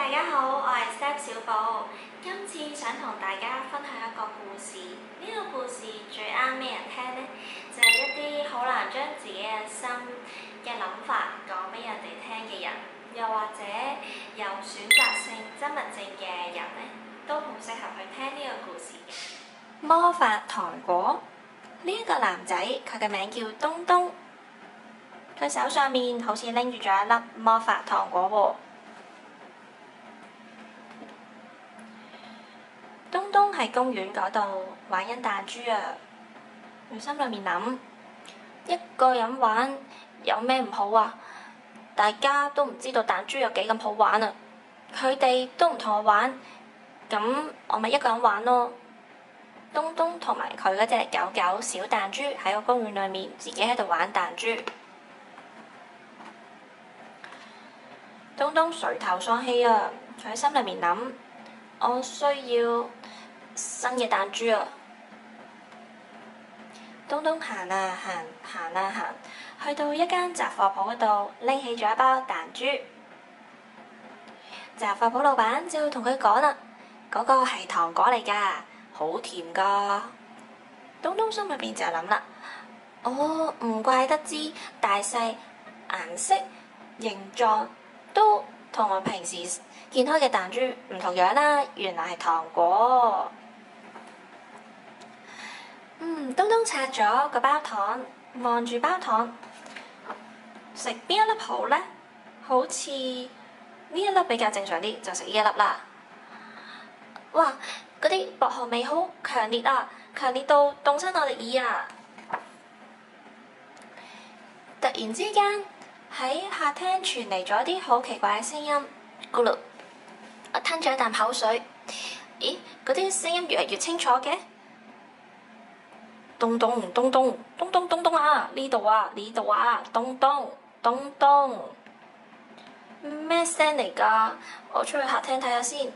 大家好，我係 Step 小寶。今次想同大家分享一個故事。呢個故事最啱咩人聽呢？就係一啲好難將自己嘅心嘅諗法講俾人哋聽嘅人，又或者有選擇性緘默症嘅人呢，都好適合去聽呢個故事。魔法糖果。呢一個男仔，佢嘅名叫東東，佢手上面好似拎住咗一粒魔法糖果喎。東東喺公園嗰度玩緊彈珠啊！佢心裏面諗：一個人玩有咩唔好啊？大家都唔知道彈珠有幾咁好玩啊！佢哋都唔同我玩，咁我咪一個人玩咯。東東同埋佢嗰隻狗狗小彈珠喺個公園裏面自己喺度玩彈珠。東東垂頭喪氣啊！佢喺心裏面諗：我需要新嘅彈珠啊！東東行啊行，行啊行，去到一間雜貨鋪嗰度，拎起咗一包彈珠。雜貨鋪老闆就同佢講啦：嗰個係糖果嚟㗎，好甜㗎。東東心裏邊就諗啦：哦，唔怪得知大細、顏色、形狀都同我平時見開嘅彈珠唔同樣啦，原來係糖果。東東拆咗個包糖，望住包糖，食邊一粒好呢？好似呢一粒比較正常啲，就食呢一粒啦。哇！嗰啲薄荷味好強烈啊，強烈到凍親我哋耳啊！突然之間喺客廳傳嚟咗啲好奇怪嘅聲音，咕嚕！我吞咗一啖口水，咦？嗰啲聲音越嚟越清楚嘅。咚咚咚咚咚咚咚咚啊！呢度啊，呢度啊！咚咚咚咚，咩聲嚟㗎？我出去客廳睇下先。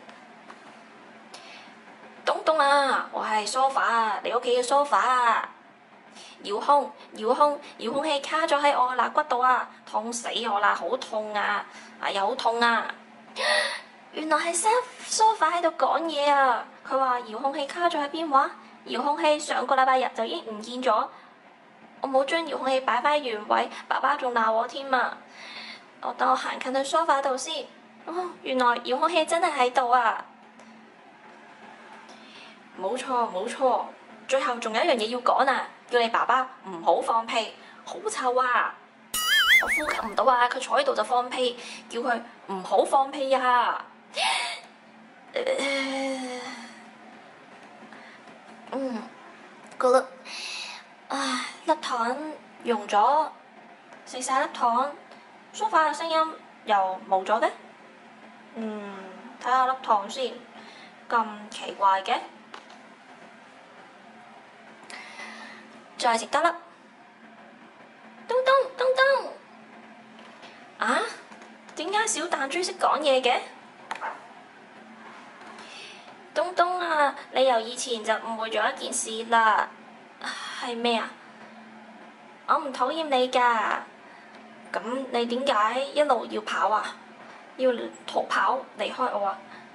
東東啊，我係梳化啊，你屋企嘅梳化啊！遙控器卡咗喺我嘅肋骨度啊，痛死我啦，好痛啊！哎呀，好痛啊！原來係梳化喺度講嘢啊！佢話遙控器卡咗喺邊話？遙控器上個禮拜日就已經唔見咗，我冇將遙控器擺返原位，爸爸仲鬧我添啊！等我行近去梳化度先。哦，原來遙控器真係喺度啊！冇錯，最後仲有一樣嘢要講啊！叫你爸爸唔好放屁，好臭啊！我呼吸唔到啊！佢坐喺度就放屁，叫佢唔好放屁啊！咕嚕，粒糖溶咗，食晒粒糖，梳化嘅聲音又冇咗嘅。睇下粒糖先，咁奇怪嘅。再食多粒。東東，啊？點解小彈珠識講嘢嘅？東東啊，你由以前就誤會咗一件事啦。係咩啊？我唔討厭你㗎。咁你點解一路要跑啊？要逃跑離開我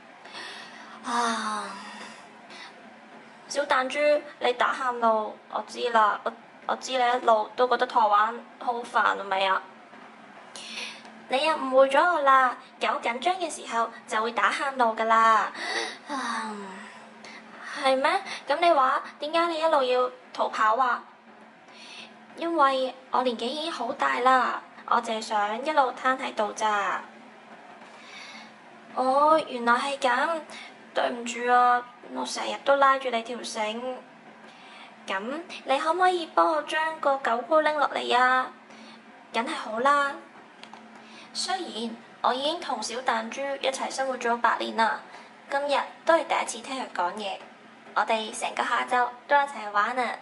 啊？小彈珠，你打喊路，我知啦。我知你一路都覺得同我玩好煩，係咪啊？你又誤會咗我啦！狗緊張嘅時候就會打喊路㗎啦。係咩？咁你話點解你一路要逃跑啊？因為我年紀已經好大啦，我淨係想一路攤喺度咋。哦，原來係咁，對唔住啊，我成日都拉住你條繩。咁你可唔可以幫我將個狗箍拎落嚟啊？梗係好啦。雖然我已經同小彈珠一齊生活咗8年啦，今日都係第一次聽佢講嘢。我哋成個下晝都一齊玩啊！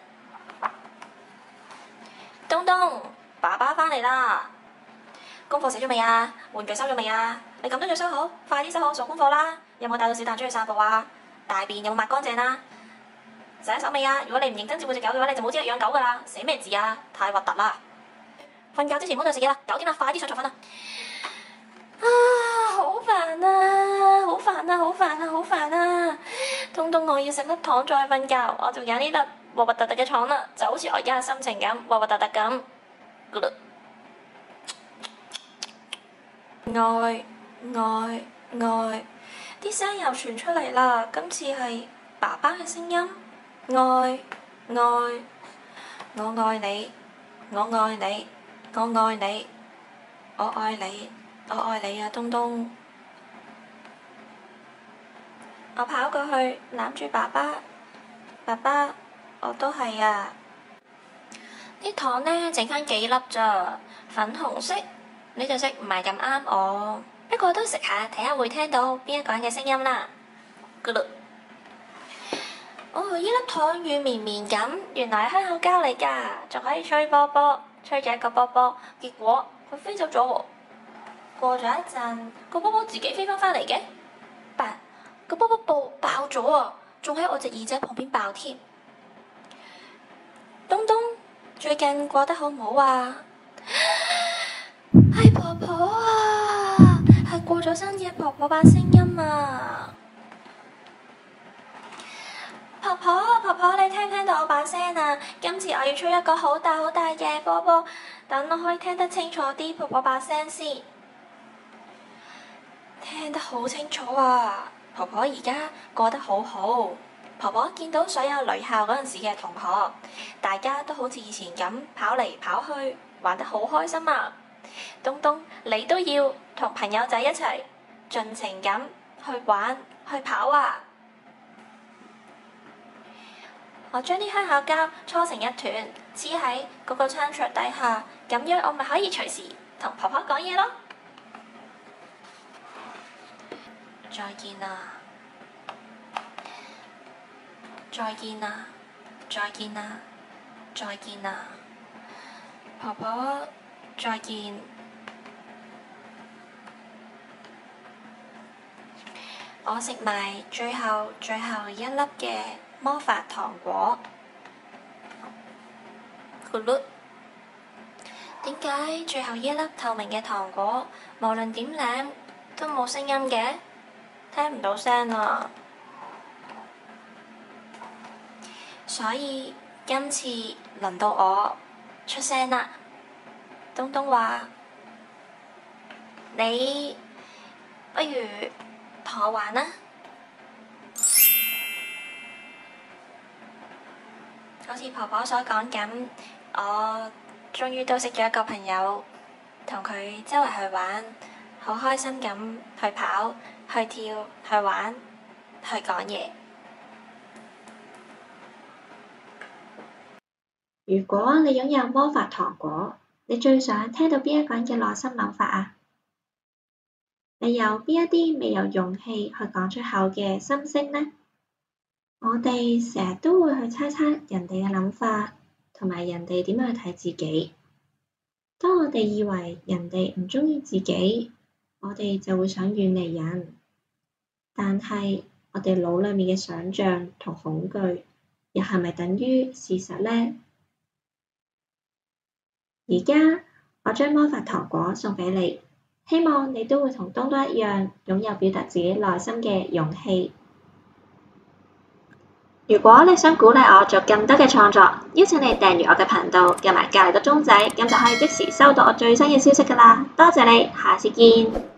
東東，爸爸返嚟啦！功課寫咗未啊？玩具收咗未啊？你咁都要收好，快啲收好做功課啦！有冇帶到小彈珠去散步啊？大便有冇抹乾淨啊？洗手未啊？如果你唔認真照顧隻狗嘅話，你就冇資格養狗噶啦！寫咩字啊？太核突啦！瞓覺之前唔好再食嘢啦，9點啦，快啲上床瞓啦！好好煩啊！好煩啊！好煩啊！好煩啊！東東，我要食粒糖再瞓覺，我就揀呢粒核核突突嘅糖啦，就好似我而家嘅心情咁，核核突突咁。愛愛愛，啲聲又傳出嚟啦，今次係爸爸嘅聲音。愛愛，我愛你，我愛你，我愛你，我愛你，我愛你啊，東東！我跑過去攬住爸爸，爸爸，我都係啊！啲糖呢，剩翻幾粒咋，粉紅色，呢隻色唔係咁啱我，不過都食下，睇下會聽到邊一個人嘅聲音啦。咕嚕，哦，呢粒糖軟綿綿咁，原來係香口膠嚟㗎，仲可以吹波波，吹咗一個波波，結果佢飛走咗喎。過咗一陣，個波波自己飛返嚟嘅，但個波波爆咗啊，仲喺我隻耳仔旁邊爆添。東東，最近過得好唔好啊？係婆婆啊，係過咗身嘅婆婆把聲音啊！婆婆，婆婆，你聽唔聽到我把聲啊？今次我要吹一個好大好大嘅波波，等我可以聽得清楚啲婆婆把聲先。聽得好清楚啊！婆婆而家過得好好。婆婆見到所有女校嗰陣時嘅同學，大家都好似以前咁跑嚟跑去，玩得好開心啊！東東，你都要同朋友仔一齊盡情咁去玩去跑啊！我將啲香口膠搓成一團，黐喺嗰個餐桌底下，咁樣我咪可以隨時同婆婆講嘢咯。再見啦！再見啦！再見啦！再見啦！婆婆，再見。我食埋最後一粒嘅魔法糖果。咕嚕，點解最後一粒透明嘅糖果，無論點舐都冇聲音嘅？聽唔到聲啊！所以今次輪到我出聲啦。東東話：你不如同我玩啦。好似婆婆所講咁，我終於都識咗一個朋友，同佢周圍去玩，好開心咁去跑、去跳、去玩、去講嘢。 如果你擁有魔法糖果，你最想聽到邊一個人嘅內心諗法啊？你有邊一啲未有勇氣去講出口嘅心聲呢？我哋成日都會去猜測人哋嘅諗法，同埋人哋點樣去睇自己。當我哋以為人哋唔鍾意自己，我哋就會想遠離人。但係我哋腦裡面嘅想像同恐懼，又係咪等於事實呢？而家我將魔法糖果送畀你，希望你都會同東東一樣，擁有表達自己內心嘅勇氣。如果你想鼓勵我做更多嘅創作，邀請你訂閱我嘅頻道，撳埋隔離個鐘仔，咁就可以即時收到我最新嘅消息㗎喇。多謝你，下次見。